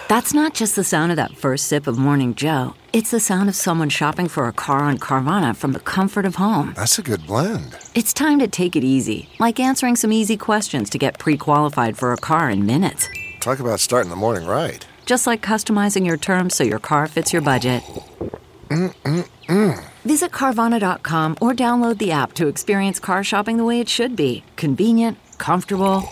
That's not just the sound of that first sip of Morning Joe. It's the sound of someone shopping for a car on Carvana from the comfort of home. That's a good blend. It's time to take it easy, like answering some easy questions to get pre-qualified for a car in minutes. Talk about starting the morning right. Just like customizing your terms so your car fits your budget. Visit Carvana.com or download the app to experience car shopping the way it should be. Convenient, comfortable.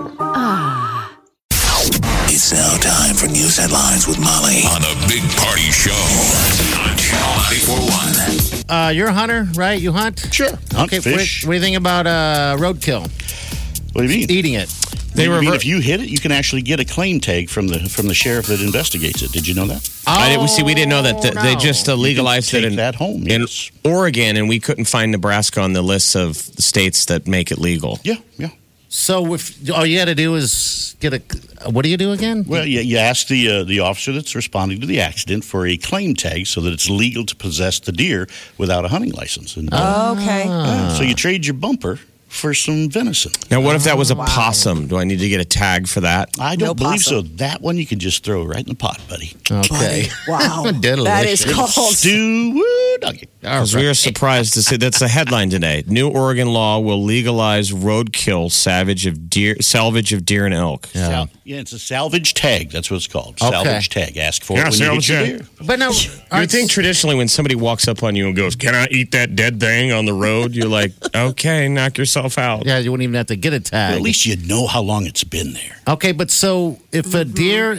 It's now time for news headlines with Molly on the Big Party Show on Channel 941. You're a hunter, right? You hunt? Sure. Hunt Okay, fish. what do you think about roadkill? What do you mean? Eating it. They mean if you hit it, you can actually get a claim tag from the sheriff that investigates it. Did you know that? We didn't know that. They just legalized it in that home in Oregon, and we couldn't find Nebraska on the list of states that make it legal. Yeah. So if all you got to do is get a, what do you do again? Well, you ask the officer that's responding to the accident for a claim tag so that it's legal to possess the deer without a hunting license. And, okay. So you trade your bumper for some venison. Now, what if that was a possum? Do I need to get a tag for that? I don't believe so. That one you can just throw right in the pot, buddy. Okay. Wow. That is called stew nugget. Because we were surprised to see that's the headline today. New Oregon law will legalize roadkill, salvage of deer and elk. Yeah, it's a salvage tag. That's what it's called. Okay. Salvage tag. Ask for it when you hit your deer. But no, I think traditionally when somebody walks up on you and goes, "Can I eat that dead thing on the road?" You're like, "Okay, knock yourself out." Yeah, you wouldn't even have to get a tag. Well, at least you know how long it's been there. Okay, but so if a deer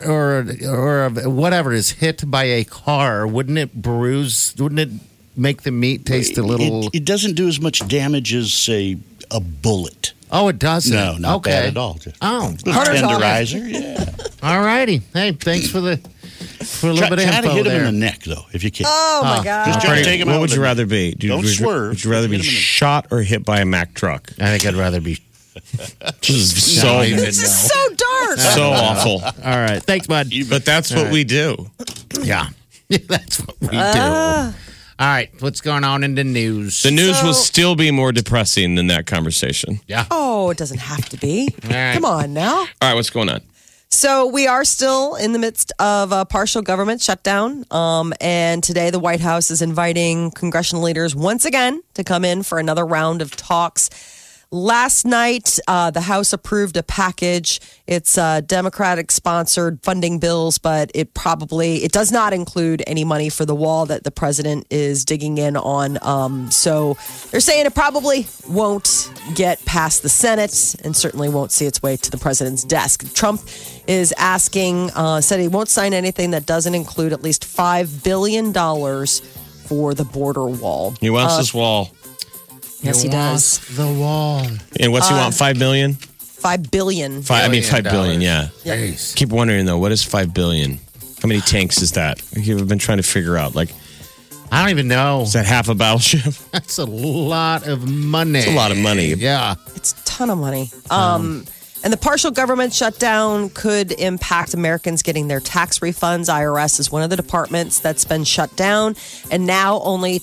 or whatever is hit by a car, wouldn't it bruise? Wouldn't it make the meat taste a little? It doesn't do as much damage as, say, a bullet. Oh, it doesn't? No, not okay. bad at all. Oh, tenderizer, yeah. All righty. Hey, thanks for a little bit of info Try to hit there. him in the neck, though, if you can. Oh, my God. Just try to take him out. What would you rather be? Don't swerve. Would you rather be shot or hit by a Mack truck? I think I'd rather be. This is so This is so dark. so awful. All right. Thanks, bud. But that's what we do. Yeah. That's what we do. All right. What's going on in the news? The news will still be more depressing than that conversation. Yeah. Oh, it doesn't have to be. right. Come on now. All right, what's going on? So we are still in the midst of a partial government shutdown. And today the White House is inviting congressional leaders once again to come in for another round of talks. Last night, the House approved a package. It's Democratic-sponsored funding bills, but it does not include any money for the wall that the president is digging in on. So they're saying it probably won't get past the Senate and certainly won't see its way to the president's desk. Trump is asking, said he won't sign anything that doesn't include at least $5 billion for the border wall. He wants this wall. Yes, he does. The wall. And what's he want? 5 million? $5 billion. $5 billion, yeah. Yes. Keep wondering though, what is 5 billion? How many tanks is that? I've been trying to figure out. Like, I don't even know. is that half a battleship? That's a lot of money. It's a lot of money. Yeah. It's a ton of money. And the partial government shutdown could impact Americans getting their tax refunds. IRS is one of the departments that's been shut down. And now only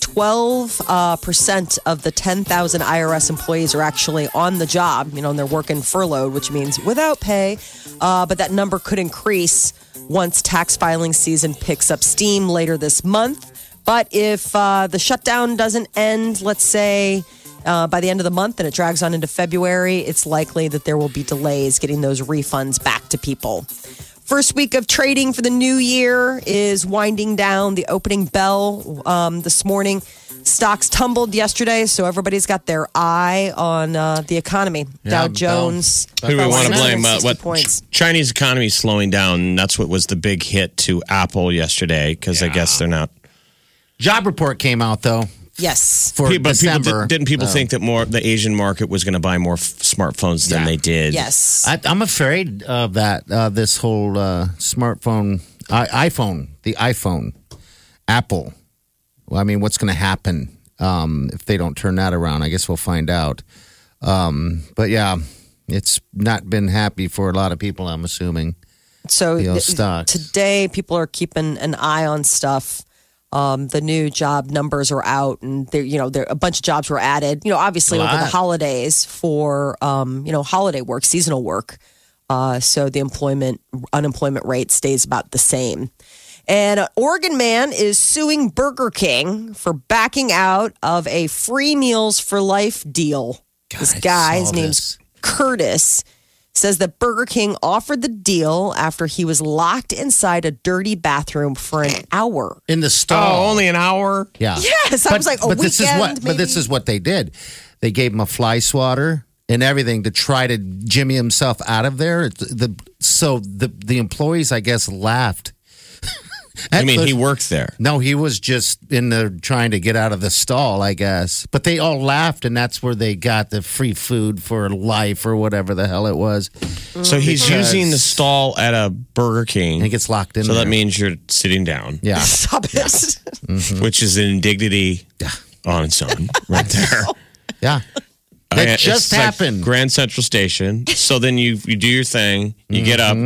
12% of the 10,000 IRS employees are actually on the job. And they're working furloughed, which means without pay. But that number could increase once tax filing season picks up steam later this month. But if the shutdown doesn't end, let's say, by the end of the month and it drags on into February, it's likely that there will be delays getting those refunds back to people. First week of trading for the new year is winding down. The opening bell this morning. Stocks tumbled yesterday, so everybody's got their eye on the economy. Dow Jones. Who do we want to blame? What points. Chinese economy is slowing down. That's what was the big hit to Apple yesterday because I guess they're not. Job report came out, though. Yes. For December. Didn't people think that the Asian market was going to buy more smartphones than they did? Yes. I'm afraid of that, this whole smartphone, the iPhone, Apple. Well, I mean, what's going to happen if they don't turn that around? I guess we'll find out. But yeah, it's not been happy for a lot of people, I'm assuming. So stocks. Today, people are keeping an eye on stuff. The new job numbers are out, and there a bunch of jobs were added. Obviously over the holidays for holiday work, seasonal work. So the unemployment rate stays about the same. And an Oregon man is suing Burger King for backing out of a free meals for life deal. This guy, his name's Curtis, says that Burger King offered the deal after he was locked inside a dirty bathroom for an hour. In the stall. Oh, only an hour? Yeah. Yes, I was like, but this is what they did. They gave him a fly swatter and everything to try to jimmy himself out of there. So the employees, I guess, laughed. I mean, he worked there. No, he was just in there trying to get out of the stall, I guess. But they all laughed, and that's where they got the free food for life or whatever the hell it was. So he's using the stall at a Burger King. And he gets locked in So there. that means you're sitting down. Yeah. Stop it. Which is an indignity on its own right there. Yeah. That just It's like happened. Grand Central Station. So then you do your thing. You get up.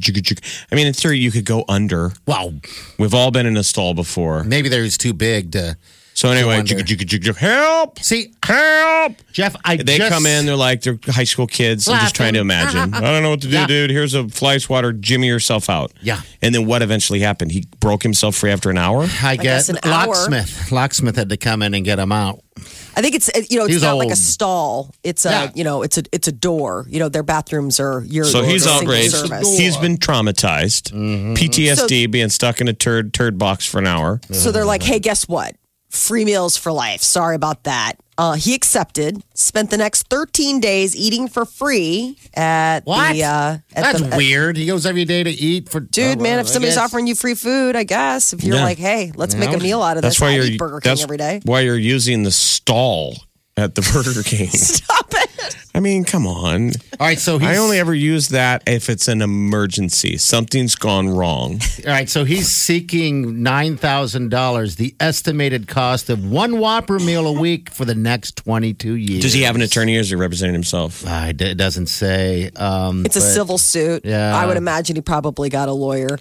I mean, in theory, you could go under. Wow. We've all been in a stall before. Maybe they was too big to. So anyway, under. help! See, Help! Jeff, They come in, they're like, they're high school kids. I'm just trying to imagine. I don't know what to do, Yeah. dude. Here's a fly swatter. Jimmy yourself out. Yeah. And then what eventually happened? He broke himself free after an hour? I guess guess an hour. Locksmith had to come in and get him out. I think it's He's not like a old. stall. It's a it's a door. Their bathrooms are your. So he's single outraged. service. He's been traumatized. PTSD, being stuck in a turd box for an hour. So they're like, hey, guess what? Free meals for life. Sorry about that. He accepted. Spent the next 13 days eating for free at What? the. That's weird. He goes every day to eat for. Dude, man, if somebody's offering you free food, I guess if you're Yeah. like, hey, let's make a meal out of this. That's why I you're eat Burger King every day. Why you're using the stall at the Burger King. Stop it. I mean, come on. All right, so I only ever use that if it's an emergency. Something's gone wrong. All right, so he's seeking $9,000, the estimated cost of one Whopper meal a week for the next 22 years. Does he have an attorney or is he representing himself? It doesn't say. It's a civil suit. Yeah. I would imagine he probably got a lawyer.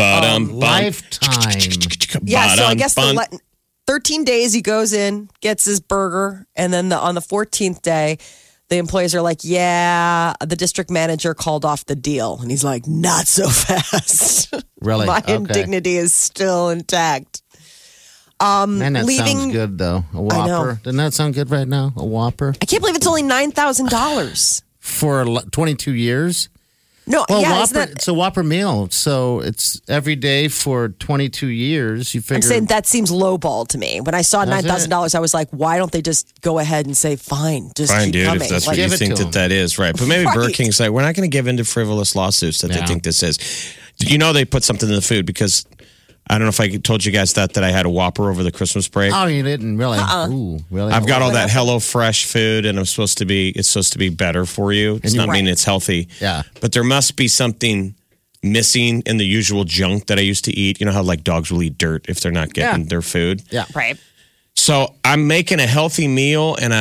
Lifetime. Yeah, so I guess 13 days he goes in, gets his burger, and then on the 14th day, the employees are like, yeah, the district manager called off the deal. And he's like, not so fast. Really? My Okay. indignity is still intact. Man, that sounds good, though. A I know. Whopper. Doesn't that sound good right now? A Whopper? I can't believe it's only $9,000. For 22 years? No, Well, yeah, Whopper, isn't that, it's a Whopper meal. So it's every day for 22 years. You figure. I'm saying that seems lowball to me. When I saw Does it? $9,000, I was like, why don't they just go ahead and say, fine, just Fine, keep dude, coming. if that's Like, what you give it think to him. that is, right. But maybe Burger Right. King's like, we're not going to give in to frivolous lawsuits that they Yeah. think this is. You know, they put something in the food because I don't know if I told you guys that I had a Whopper over the Christmas break. Oh, you didn't really? Ooh, really? I've got all that HelloFresh food, and it's supposed to be better for you. It's not mean it's healthy. Yeah. But there must be something missing in the usual junk that I used to eat. You know how like dogs will eat dirt if they're not getting their food. Yeah. Right. So I'm making a healthy meal, and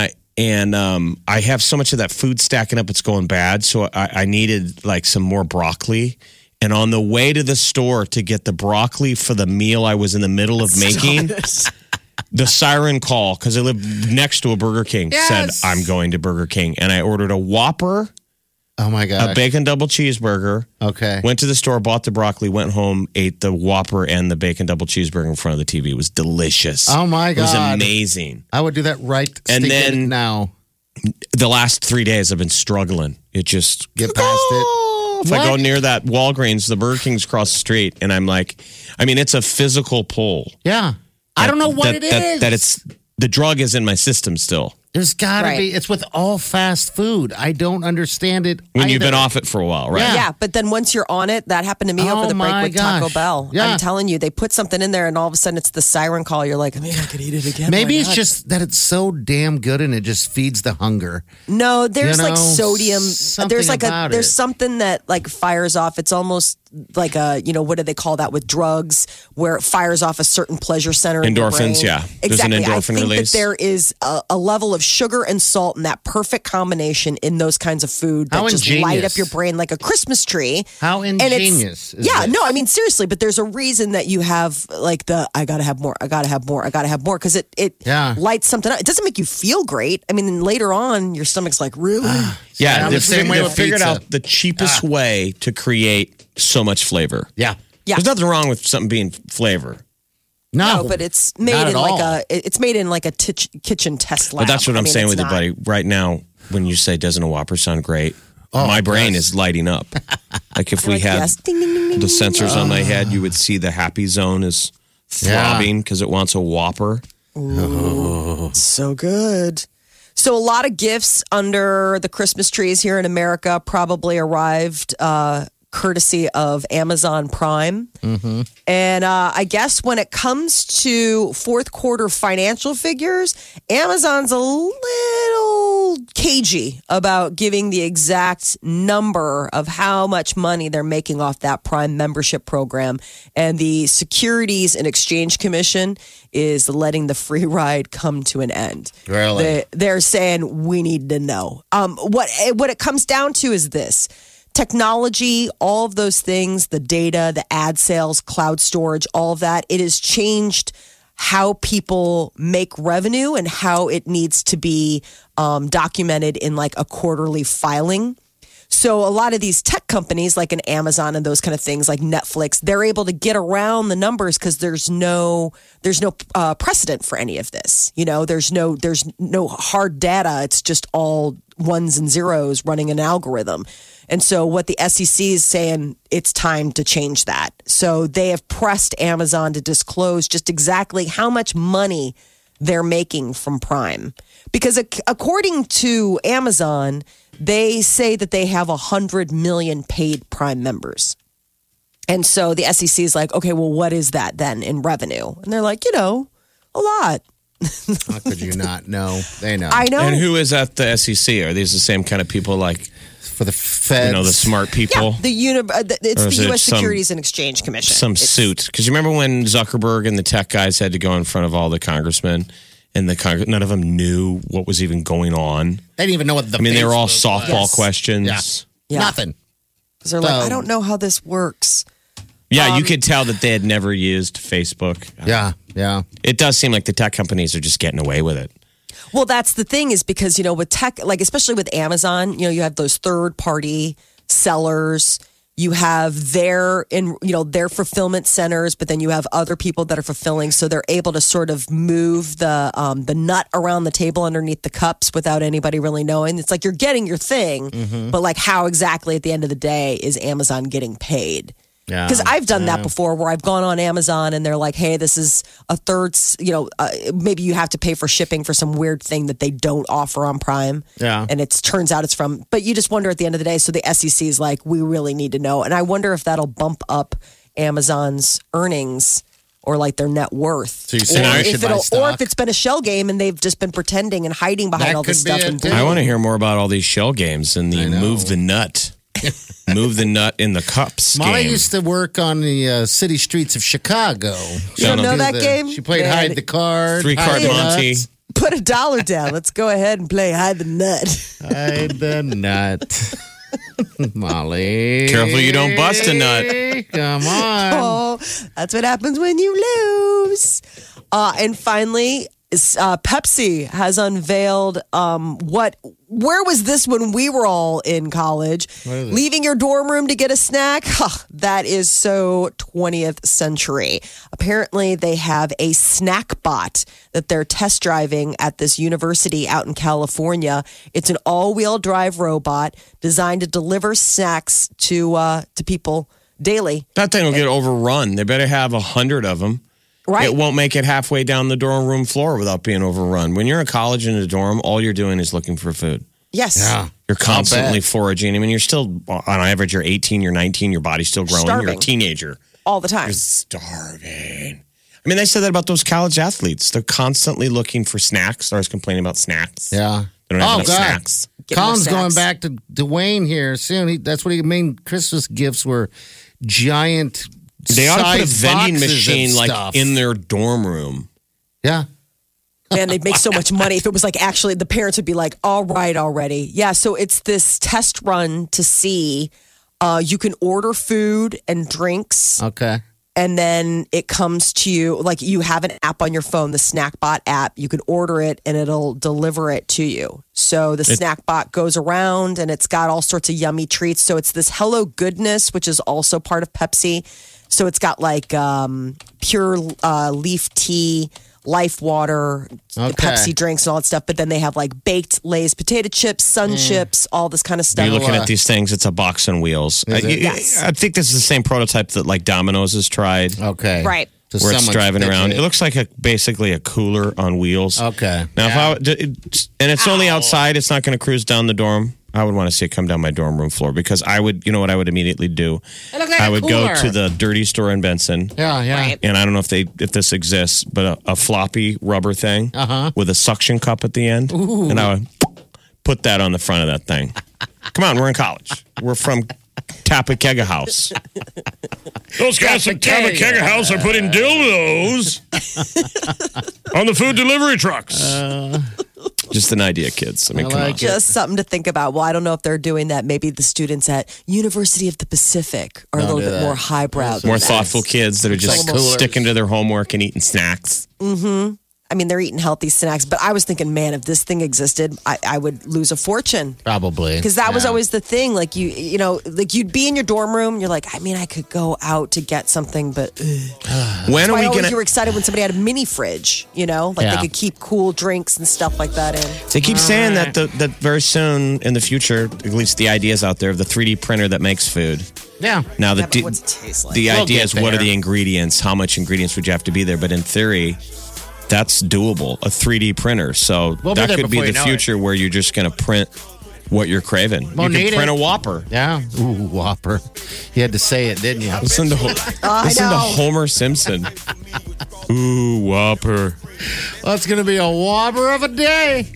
I have so much of that food stacking up, it's going bad. So I needed like some more broccoli. And on the way to the store to get the broccoli for the meal I was in the middle of making, the siren call, because I live next to a Burger King, said, I'm going to Burger King. And I ordered a Whopper, Oh, my God. a bacon double cheeseburger. Okay. Went to the store, bought the broccoli, went home, ate the Whopper and the bacon double cheeseburger in front of the TV. It was delicious. Oh, my It was God. amazing. I would do that right And then- now. The last 3 days I've been struggling. It just Get past it. If I go near that Walgreens, the Burger King's across the street, and I'm like, I mean, it's a physical pull. Yeah. I don't know what it is. That it's the drug is in my system still. There's got to Right. be. It's with all fast food. I don't understand it. When you've either. been off it for a while, right? Yeah, but then once you're on it, that happened to me over Oh the break my with Taco gosh. Bell. Yeah. I'm telling you, they put something in there and all of a sudden it's the siren call. You're like, I mean, I could eat it again. Maybe Why it's not? just that it's so damn good and it just feeds the hunger. No, there's You like know, sodium. something There's like about there's it. something that like fires off. It's almost like a, what do they call that with drugs where it fires off a certain pleasure center in your Endorphins, brain. yeah. There's an Exactly. I endorphin think release. that there is a level of sugar and salt and that perfect combination in those kinds of food that How just light ingenious. up your brain like a Christmas tree. How And it's- ingenious is yeah, this? no, I mean seriously, but there's a reason that you have like the I gotta have more, I gotta have more, I gotta have more because it Yeah. lights something up. It doesn't make you feel great. I mean, later on, your stomach's like, really? Yeah, I'm they the same way with figured pizza. out the cheapest way to create so much flavor. Yeah. Yeah. There's nothing wrong with something being flavor. No, but it's made Not in at like all. it's made in like a kitchen test lab. But that's what I'm I mean, saying it's with it, not- buddy. Right now, when you say, doesn't a Whopper sound great? My brain yes. is lighting up. Like if we Like, had yes. Ding, ding, ding, ding, the ding. sensors on my head, you would see the happy zone is throbbing because it wants a Whopper. So good. So a lot of gifts under the Christmas trees here in America probably arrived courtesy of Amazon Prime. And I guess when it comes to fourth quarter financial figures, Amazon's a little cagey about giving the exact number of how much money they're making off that Prime membership program. And the Securities and Exchange Commission is letting the free ride come to an end. Really? They're saying we need to know. What it comes down to is this. Technology, all of those things, the data, the ad sales, cloud storage, all of that, it has changed how people make revenue and how it needs to be documented in like a quarterly filing. So a lot of these tech companies like an Amazon and those kind of things like Netflix, they're able to get around the numbers because there's no precedent for any of this. You know, there's no hard data. It's just all ones and zeros running an algorithm. And so what the SEC is saying, it's time to change that. So they have pressed Amazon to disclose just exactly how much money they're making from Prime. Because according to Amazon, they say that they have 100 million paid Prime members. And so the SEC is like, okay, well, what is that then in revenue? And they're like, a lot. How could you not know? They know. I know. And who is at the SEC? Are these the same kind of people like, For the feds. the smart people? It's Or is the it U.S. some- Securities and Exchange Commission. Some It's- suit. Because you remember when Zuckerberg and the tech guys had to go in front of all the congressmen and none of them knew what was even going on? They didn't even know what the They were all Facebook was. softball Yes. questions. Yeah. Yeah. Nothing. 'Cause they're like, So- I don't know how this works. Yeah, you could tell that they had never used Facebook. Yeah. Yeah. It does seem like the tech companies are just getting away with it. Well, that's the thing is because, with tech, like especially with Amazon, you have those third party sellers. You have their fulfillment centers, but then you have other people that are fulfilling. So they're able to sort of move the nut around the table underneath the cups without anybody really knowing. It's like you're getting your thing, but like how exactly at the end of the day is Amazon getting paid? Yeah. Because I've done that before where I've gone on Amazon and they're like, hey, this is a third, maybe you have to pay for shipping for some weird thing that they don't offer on Prime. Yeah. And it turns out it's from, but you just wonder at the end of the day. So the SEC is like, we really need to know. And I wonder if that'll bump up Amazon's earnings or like their net worth. So you're saying I should buy stock? Or if it's been a shell game and they've just been pretending and hiding behind That all this could be stuff. it, And too. I want to hear more about all these shell games and the I know. move the nut. Move the nut in the cups Molly game. used to work on the city streets of Chicago. You don't know Do that the- game? She played Man. hide the card. 3-card hide the Monty. nuts, Put $1 down. Let's go ahead and play hide the nut. Hide the nut. Molly. Careful you don't bust a nut. Come on. Oh, that's what happens when you lose. And finally, Pepsi has unveiled where was this when we were all in college? Leaving your dorm room to get a snack? Huh, that is so 20th century. Apparently, they have a snack bot that they're test driving at this university out in California. It's an all-wheel drive robot designed to deliver snacks to people daily. That thing will get overrun. They better have 100 of them. Right. It won't make it halfway down the dorm room floor without being overrun. When you're in college in a dorm, all you're doing is looking for food. Yes. Yeah. You're constantly bet. foraging. I mean, you're still, on average, you're 18, you're 19, your body's still growing. You're a Starving. teenager. All the time. You're starving. I mean, they said that about those college athletes. They're constantly looking for snacks. They're always complaining about snacks. Yeah. They don't have Oh, enough God. snacks. Get more Colin's going snacks. back to Dwayne here soon. That's what he main Christmas gifts were giant. They ought to put a size vending boxes of machine like stuff. in their dorm room. Yeah. Man, they'd make so much money if it was like actually the parents would be like, all right, already. Yeah, so it's this test run to see you can order food and drinks Okay. and then it comes to you, like you have an app on your phone, the Snackbot app. You can order it and it'll deliver it to you. So the Snackbot goes around and it's got all sorts of yummy treats. So it's this Hello Goodness, which is also part of Pepsi. So it's got like pure leaf tea, Life Water, Pepsi drinks, and all that stuff. But then they have like baked Lay's potato chips, Sun chips, all this kind of stuff. You're looking at these things. It's a box on wheels. Yes. I think this is the same prototype that like Domino's has tried. Okay. Right. So where it's driving around. It. It looks like basically a cooler on wheels. Okay. Now, and it's only outside. It's not going to cruise down the dorm. I would want to see it come down my dorm room floor because I would, you know what I would immediately do? I would go to the dirty store in Benson. Yeah. Right. And I don't know if this exists, but a floppy rubber thing with a suction cup at the end. Ooh. And I would put that on the front of that thing. Come on, we're in college. We're from Tapakega House. Those guys from Tapakega House are putting dildos on the food delivery trucks. Just an idea, kids. I mean, come on. Just something to think about. Well, I don't know if they're doing that. Maybe the students at University of the Pacific are a little bit more highbrow. More thoughtful kids that are just sticking to their homework and eating snacks. Mm-hmm. I mean, they're eating healthy snacks, but I was thinking, man, if this thing existed, I would lose a fortune. Probably. Because that was always the thing. Like, you know, like you'd be in your dorm room. You're like, I mean, I could go out to get something, but when are we going to... You were excited when somebody had a mini fridge, you know? Like they could keep cool drinks and stuff like that in. They keep saying that very soon in the future, at least the idea is out there, of the 3D printer that makes food. Yeah. Now, but what's it taste like? The idea is what are the ingredients? How much ingredients would you have to be there? But in theory... that's doable, a 3D printer. So that could be the future where you're just going to print what you're craving. You can print a Whopper. Yeah. Ooh, Whopper. You had to say it, didn't you? Listen to Homer Simpson. Ooh, Whopper. Well, it's going to be a Whopper of a day.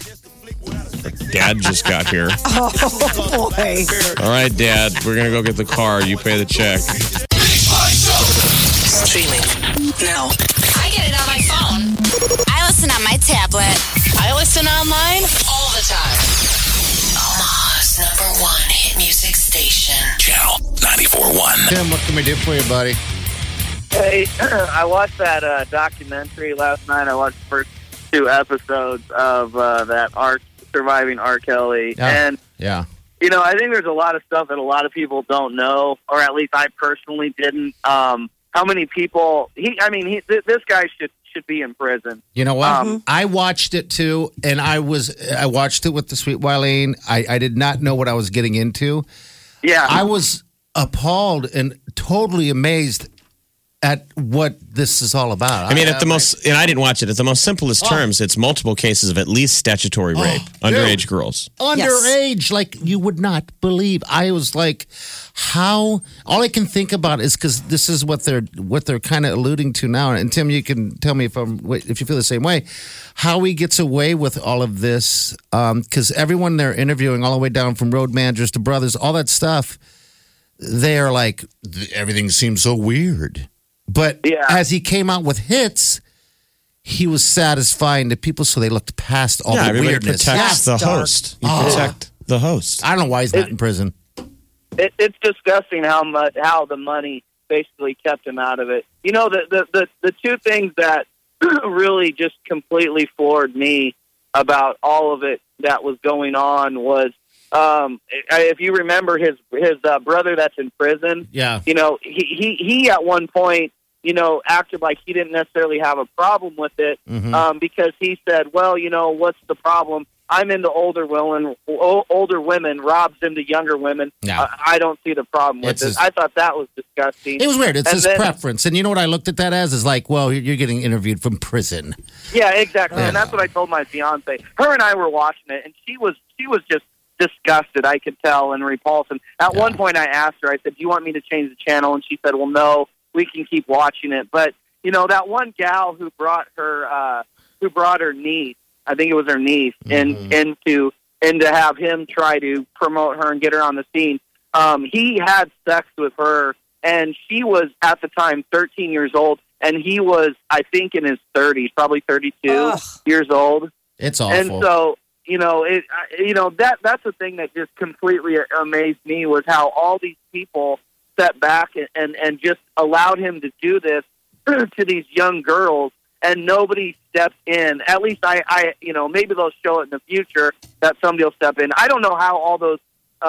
Dad just got here. Oh, boy. All right, Dad, we're going to go get the car. You pay the check. Streaming now. I get it on my phone. I listen on my tablet. I listen online all the time. Omaha's #1 hit music station. Channel 94.1. Tim, what can we do for you, buddy? Hey, I watched that documentary last night. I watched the first 2 episodes of that Surviving R. Kelly. And, you know, I think there's a lot of stuff that a lot of people don't know, or at least I personally didn't. How many people... this guy should be in prison. You know what? I watched it too, and I watched it with the sweet Wileen. I did not know what I was getting into. Yeah. I was appalled and totally amazed at what this is all about. I mean, and I didn't watch it. At the most simplest terms, it's multiple cases of at least statutory rape, underage girls. Underage, like you would not believe. I was like, how? All I can think about is because this is what they're kind of alluding to now. And Tim, you can tell me if you feel the same way. How he gets away with all of this? Because everyone they're interviewing, all the way down from road managers to brothers, all that stuff, they are like, everything seems so weird. But as he came out with hits, he was satisfying to people, so they looked past all the weirdness. Protects the host. You protect the host. I don't know why he's not in prison. It's disgusting how the money basically kept him out of it. You know, the 2 things that really just completely floored me about all of it that was going on was, if you remember his brother that's in prison. Yeah. You know, he at one point, you know, acted like he didn't necessarily have a problem with it, because he said, well, you know, what's the problem? I'm into older women. Rob's into younger women. No. I don't see the problem with this. I thought that was disgusting. It was weird. It's his preference. And you know what I looked at that as? Is like, well, you're getting interviewed from prison. Yeah, exactly. And that's what I told my fiance. Her and I were watching it, and she was just disgusted, I could tell, and repulsed. And at one point I asked her, I said, do you want me to change the channel? And she said, well, no, we can keep watching it. But, you know, that one gal who brought her niece, I think it was her niece, and to have him try to promote her and get her on the scene. He had sex with her, and she was at the time 13 years old, and he was, I think, in his 30s, probably 32 years old. It's awful. And so, that's the thing that just completely amazed me was how all these people sat back and just allowed him to do this to these young girls, and nobody stepped in. At least I maybe they'll show it in the future that somebody will step in. I don't know how all those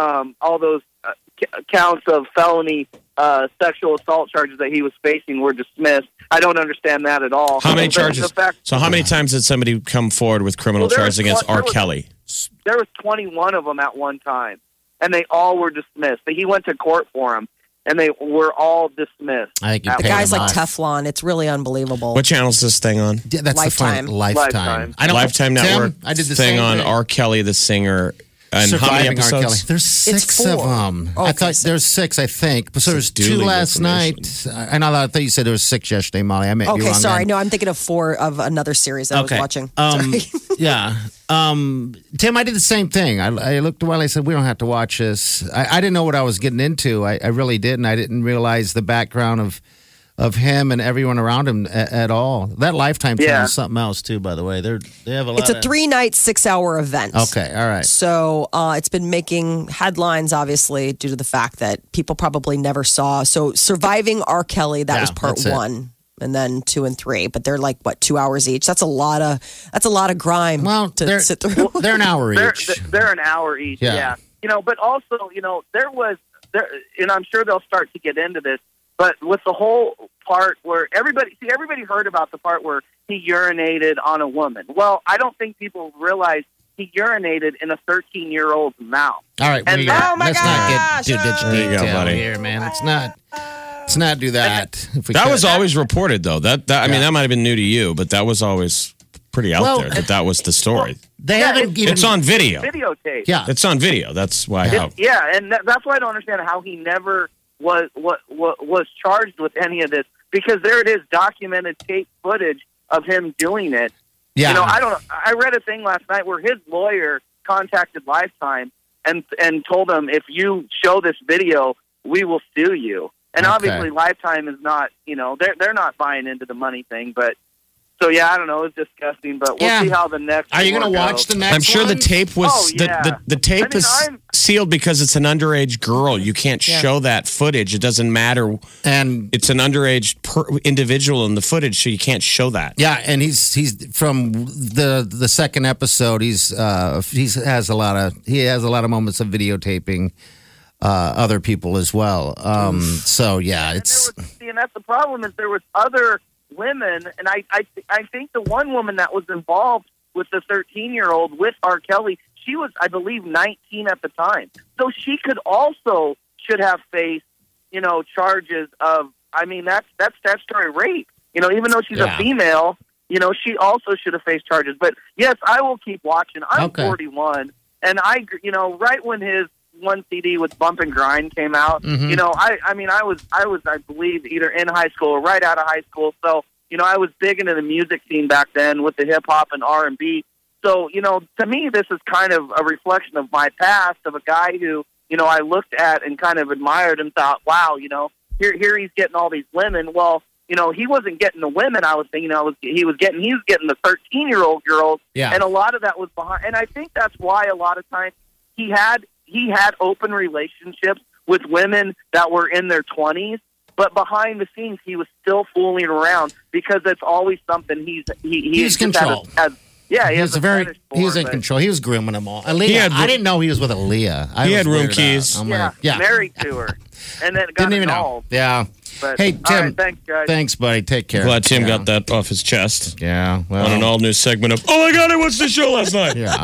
counts of felony sexual assault charges that he was facing were dismissed. I don't understand that at all. How many charges? So how many times did somebody come forward with criminal charges against R. Kelly? There was 21 of them at one time, and they all were dismissed. He went to court for them, and they were all dismissed. I think The guy's like Teflon. It's really unbelievable. What channel is this thing on? Yeah, that's Lifetime. the fun. Lifetime. I don't, Lifetime Network. Tim, I did the thing same on thing. R. Kelly, the singer. And how many Surviving R. Kelly. episodes? There's 6 of 4. them. Oh, I okay, thought so- there's 6, I think. But so there's 2 dueling last night. information. I thought you said there was 6 yesterday, Molly. I meant you Okay, wrong sorry. then. No, I'm thinking of 4 of another series I was watching. Sorry. Yeah. Tim, I did the same thing. I looked a while. I said, we don't have to watch this. I didn't know what I was getting into. I really didn't. I didn't realize the background of him and everyone around him at all. That Lifetime channel is something else, too, by the way. They have a lot It's a 3-night, 6-hour event. Okay, all right. So it's been making headlines, obviously, due to the fact that people probably never saw. So Surviving R. Kelly, that was part that's it. 1. And then 2 and 3, but they're like 2 hours each. That's a lot of grime to sit through. They're an hour each. They're an hour each. Yeah. But also, there was, and I'm sure they'll start to get into this, but with the whole part where everybody heard about the part where he urinated on a woman. Well, I don't think people realize he urinated in a 13-year-old's mouth. All right. And let's not get too There you go, detail buddy. here, man. Let's not do that. If we That could. was always reported, though. I mean, that might have been new to you, but that was always pretty out there. That was the story. They haven't even. It's on video. Videotape. Yeah. It's on video. That's why. And that's why I don't understand how he never was charged with any of this, because there it is, documented tape footage of him doing it. Yeah. I read a thing last night where his lawyer contacted Lifetime and told them, if you show this video, we will sue you. And obviously Lifetime is not, they're not buying into the money thing, but so yeah, I don't know, it's disgusting, but we'll see how the next Are you going to watch the next I'm sure one? the tape was Oh, yeah. the tape is sealed because it's an underage girl. You can't show that footage. It doesn't matter, and it's an underage individual in the footage, so you can't show that. Yeah, and he's from the second episode. He has a lot of moments of videotaping other people as well. So yeah, it's and that's the problem, is there was other women, and I think the one woman that was involved with the 13-year-old with R. Kelly, she was, I believe, 19 at the time. So she should have faced, charges of, I mean, that's statutory rape. Even though she's a female, she also should have faced charges. But yes, I will keep watching. I'm 41, and right when his one CD with Bump and Grind came out, I was, I believe, either in high school or right out of high school. So, I was big into the music scene back then with the hip hop and R&B. So, to me, this is kind of a reflection of my past, of a guy who, I looked at and kind of admired and thought, wow, here he's getting all these women. Well, he wasn't getting the women. I was thinking, he was getting the 13-year-old girls. Yeah. And a lot of that was behind. And I think that's why a lot of times he had open relationships with women that were in their 20s, but behind the scenes he was still fooling around, because it's always something he's control. He was in control. He was grooming them all. Aaliyah, I didn't know he was with Aaliyah. He had room keys. Married to her, and then got Didn't even involved. know. Yeah. But, Hey, Tim. all right, thanks, guys. Thanks, buddy. Take care. Glad Tim got that off his chest. Yeah. Well, On an all-new segment of, oh my God, I watched the show last night. Yeah.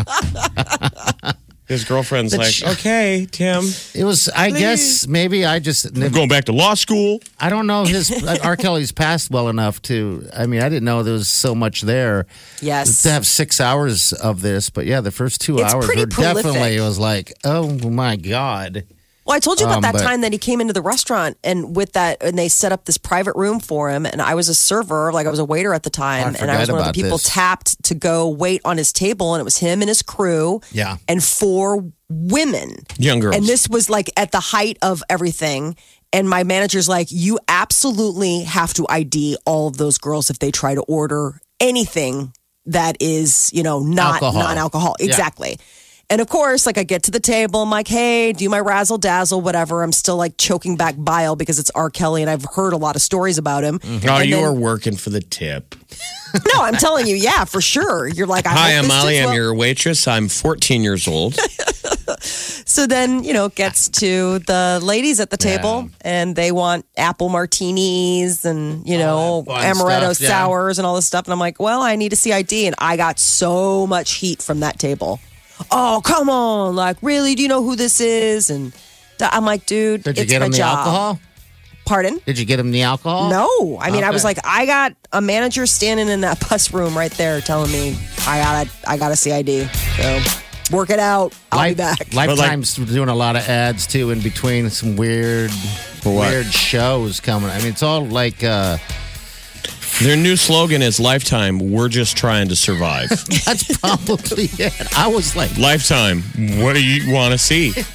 His girlfriend's okay, Tim. It was, I guess, maybe I just. I'm going back to law school. I don't know R. Kelly's past well enough to. I mean, I didn't know there was so much there. Yes. To have 6 hours of this, but yeah, the first 2 It's hours pretty were prolific. definitely. It was like, oh my God. Well, I told you about that but- time that he came into the restaurant and they set up this private room for him. And I was a server, I was a waiter at the time. And I was one of the people tapped to go wait on his table. And it was him and his crew. Yeah. And 4 women. Young girls. And this was at the height of everything. And my manager's like, you absolutely have to ID all of those girls if they try to order anything that is, not Alcohol. non-alcohol. Yeah. Exactly. And of course, like I get to the table, I'm like, hey, do my razzle dazzle, whatever. I'm still like choking back bile because it's R. Kelly and I've heard a lot of stories about him. Oh, And you then- were working for the tip. No, I'm telling you, yeah, for sure. You're like, Hi, I'm Molly. I'm well. your waitress. I'm 14 years old. So then, it gets to the ladies at the table and they want apple martinis and, that fun amaretto stuff, yeah. sours and all this stuff. And I'm like, well, I need to see ID. And I got so much heat from that table. Oh, come on. Like, really? Do you know who this is? And I'm like, dude, Did you it's get my him the job. alcohol? Pardon? Did you get him the alcohol? No. I mean, I was Okay. like, I got a manager standing in that bus room right there telling me I gotta see ID. So work it out. I'll be back. Lifetime's doing a lot of ads too in between some weird shows coming. I mean, it's all like Their new slogan is Lifetime, we're just trying to survive. that's probably it. I was like, Lifetime, what do you want to see? They're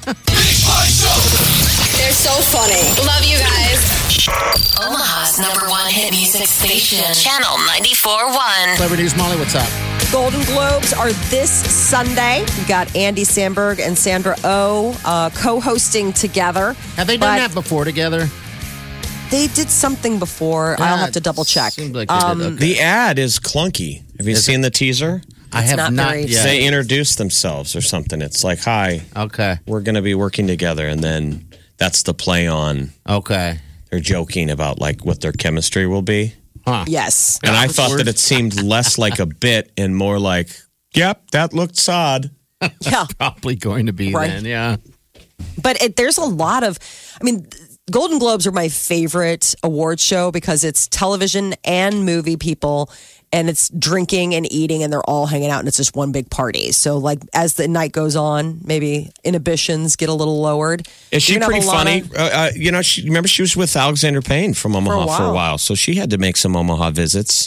so funny. Love you guys. Omaha's #1 hit music station. Channel 94.1. Clever News, Molly, what's up? Golden Globes are this Sunday. We got Andy Samberg and Sandra Oh co-hosting together. Have they done But that before together? They did something before. I'll have to double check. Seemed like they did. Okay. The ad is clunky. Have you seen the teaser? I have not not very- yet. They introduce themselves or something. It's like, hi, Okay. we're going to be working together. And then that's the play on. Okay. They're joking about like what their chemistry will be. Huh. Yes. And I thought that it seemed less like a bit and more like, yep, that looked sod. Yeah. Probably going to be Right. then, yeah. But there's a lot of, Golden Globes are my favorite award show because it's television and movie people and it's drinking and eating and they're all hanging out and it's just one big party. So like as the night goes on, maybe inhibitions get a little lowered. Is she You're gonna pretty have a lot funny? of- Remember she was with Alexander Payne from Omaha for a while. while. So she had to make some Omaha visits.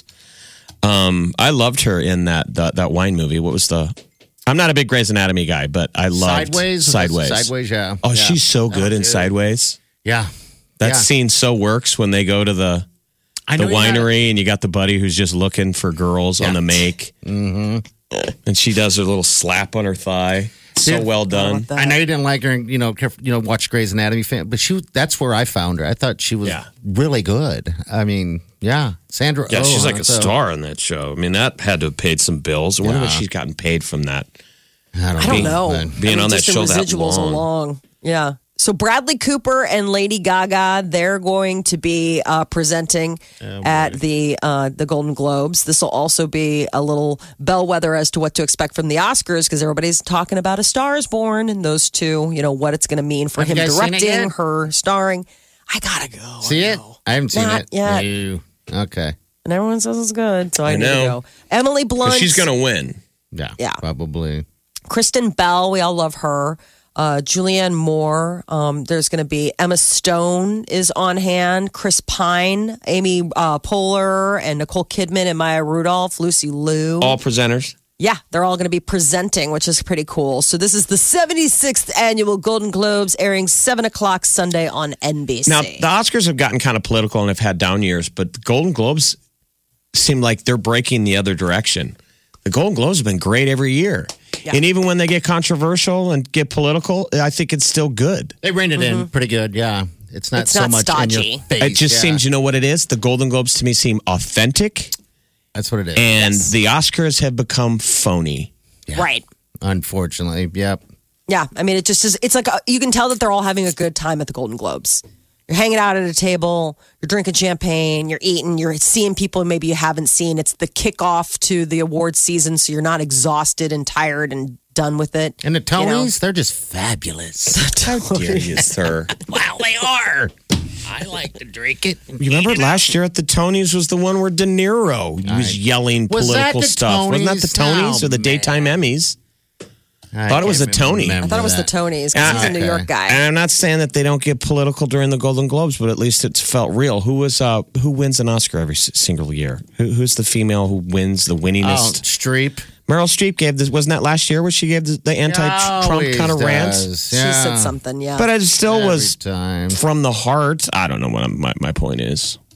I loved her in that wine movie. What was the... I'm not a big Grey's Anatomy guy, but I loved Sideways? Sideways, yeah. Oh, Yeah. she's so good in dude. Sideways. Yeah. That Yeah. scene so works when they go to the I know you had- winery and you got the buddy who's just looking for girls on the make. Mm-hmm. And she does her little slap on her thigh. So Dude, well done. I know you didn't like her, watch Grey's Anatomy fan, but that's where I found her. I thought she was Yeah. really good. I mean, yeah. Sandra Yeah, Oh, she's like a so- star on that show. I mean, that had to have paid some bills. I wonder what Yeah. she's gotten paid from that. I don't know. Being on that just the show that residuals long. along. Yeah. So Bradley Cooper and Lady Gaga, they're going to be presenting at the Golden Globes. This will also be a little bellwether as to what to expect from the Oscars because everybody's talking about A Star Is Born and those two. What it's going to mean for Have you him guys seen it directing, yet? her starring. I gotta go. See it? I haven't seen Not it. yet. No. Okay. And everyone says it's good, so I need to know. go. Emily 'Cause Blunt. she's going to win. Yeah. Probably. Kristen Bell, we all love her. Julianne Moore. There's going to be Emma Stone is on hand. Chris Pine, Amy Poehler, and Nicole Kidman and Maya Rudolph, Lucy Liu. All presenters. Yeah, they're all going to be presenting, which is pretty cool. So this is the 76th annual Golden Globes, airing 7 o'clock Sunday on NBC. Now, the Oscars have gotten kind of political and have had down years, but the Golden Globes seem like they're breaking the other direction. The Golden Globes have been great every year. Yeah. And even when they get controversial and get political, I think it's still good. They reined it in pretty good, yeah. It's not It's so not much in stodgy. your face. It just yeah. seems, you know what it is? The Golden Globes to me seem authentic, That's what it is. and the Oscars have become phony. Right. Unfortunately, yep. Yeah, I mean, it just is. It's like you can tell that they're all having a good time at the Golden Globes. You're hanging out at a table, you're drinking champagne, you're eating, you're seeing people maybe you haven't seen. It's the kickoff to the award season, so you're not exhausted and tired and done with it. And the You know? Tonys, they're just fabulous. How dare you, sir? Wow, they are. I like to drink it. You remember last year at the Tonys was the one where De Niro was yelling Was that political the stuff. Wasn't that the Tonys? Tonys or the Oh, daytime Emmys? Thought it was can't a Tony. remember I thought it was the that. Tonys because he's a New Okay. York guy. And I'm not saying that they don't get political during the Golden Globes, but at least it's felt real. Who wins an Oscar every single year? Who's the female who wins the Oh, winningest? Streep. Meryl Streep gave this. Wasn't that last year where she gave the anti-Trump Always kind of rant? does, She yeah. said something, yeah. But it still Every was time. from the heart. I don't know what my point is.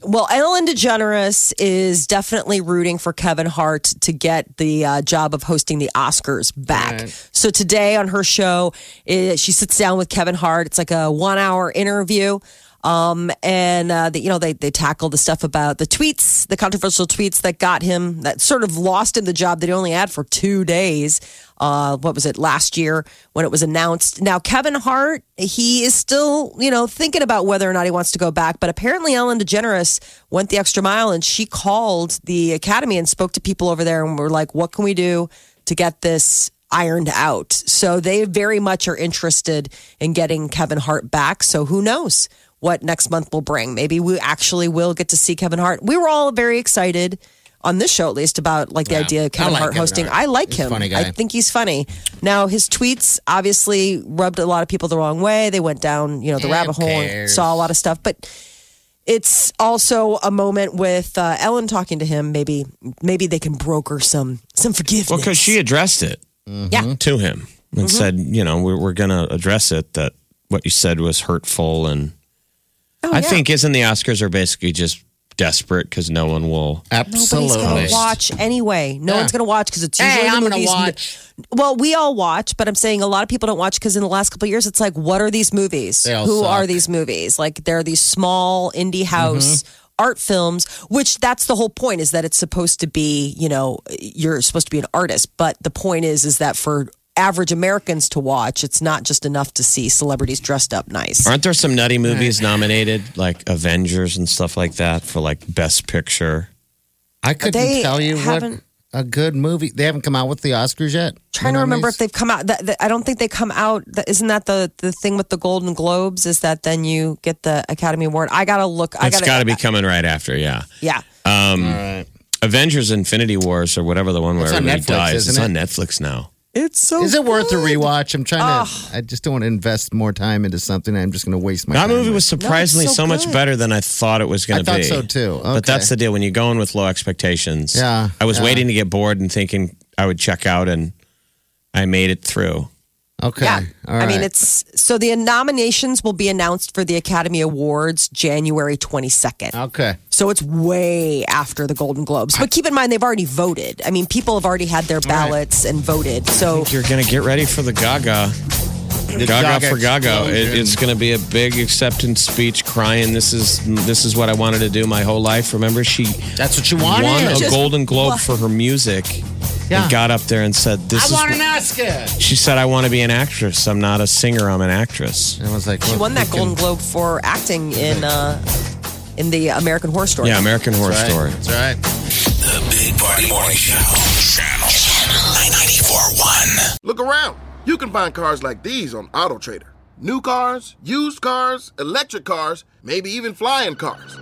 Well, Ellen DeGeneres is definitely rooting for Kevin Hart to get the job of hosting the Oscars back. Right. So today on her show, she sits down with Kevin Hart. It's like a 1-hour interview. They tackle the stuff about the tweets, the controversial tweets that got him, that sort of lost him the job that he only had for 2 days. What was it, last year when it was announced? Now, Kevin Hart, he is still, thinking about whether or not he wants to go back. But apparently Ellen DeGeneres went the extra mile and she called the Academy and spoke to people over there and were like, what can we do to get this ironed out? So they very much are interested in getting Kevin Hart back. So who knows what next month will bring. Maybe we actually will get to see Kevin Hart. We were all very excited on this show, at least, about the idea of Kevin Hart hosting. I like him. Funny guy. I think he's funny. Now, his tweets obviously rubbed a lot of people the wrong way. They went down, the rabbit hole and saw a lot of stuff. But it's also a moment with Ellen talking to him. Maybe they can broker some forgiveness. Well, because she addressed it to him and said, we're going to address it, that what you said was hurtful. And I think, isn't the Oscars are basically just desperate because no one will. Absolutely. Nobody's going to watch anyway. No one's going to watch because it's usually I'm the going to movies. watch. Well, we all watch, but I'm saying a lot of people don't watch because in the last couple of years, it's like, what are these movies? They all Who suck. are these movies? Like, they're these small indie house art films, which that's the whole point, is that it's supposed to be, you're supposed to be an artist. But the point is that for average Americans to watch, it's not just enough to see celebrities dressed up nice. Aren't there some nutty movies nominated, like Avengers and stuff like that, for like Best Picture? I couldn't They tell you what haven't- a good movie. They haven't come out with the Oscars yet. Trying to remember if they've come out. I don't think they come out. Isn't that the thing with the Golden Globes? Is that then you get the Academy Award? I gotta look. It's got to be coming right after, yeah. Yeah. All right. Avengers Infinity Wars or whatever, the one where It's on everybody Netflix, dies. It's isn't on Netflix now. It's so. Is it worth a rewatch? I'm trying to. I just don't want to invest more time into something. I'm just going to waste my That time. movie with. was surprisingly so so much good. better than I thought it was going to I be. thought so, too. But Okay. that's the deal. When you go in with low expectations, Yeah, I was yeah. waiting to get bored and thinking I would check out, and I made it through. Okay. Yeah. All right. I mean, it's so the nominations will be announced for the Academy Awards January 22nd. Okay. So it's way after the Golden Globes. But keep in mind, they've already voted. I mean, people have already had their ballots and voted. So You're going to get ready for the Gaga. Gaga for Gaga. It's going to be a big acceptance speech, crying. This is what I wanted to do my whole life. Remember, she That's what you wanted. won a Just- Golden Globe for her music. Yeah. And got up there and said, "This I is." want an Oscar. She said, "I want to be an actress. I'm not a singer. I'm an actress." And I was like, she look, won that we can- Golden Globe for acting in the American Horror Story. Yeah, American Horror That's Story. right. That's right. The Big Party Morning Show. Channel 994.1. Look around. You can find cars like these on AutoTrader. New cars, used cars, electric cars, maybe even flying cars.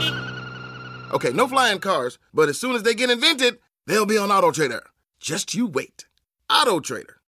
Okay, no flying cars, but as soon as they get invented, they'll be on AutoTrader. Just you wait. AutoTrader.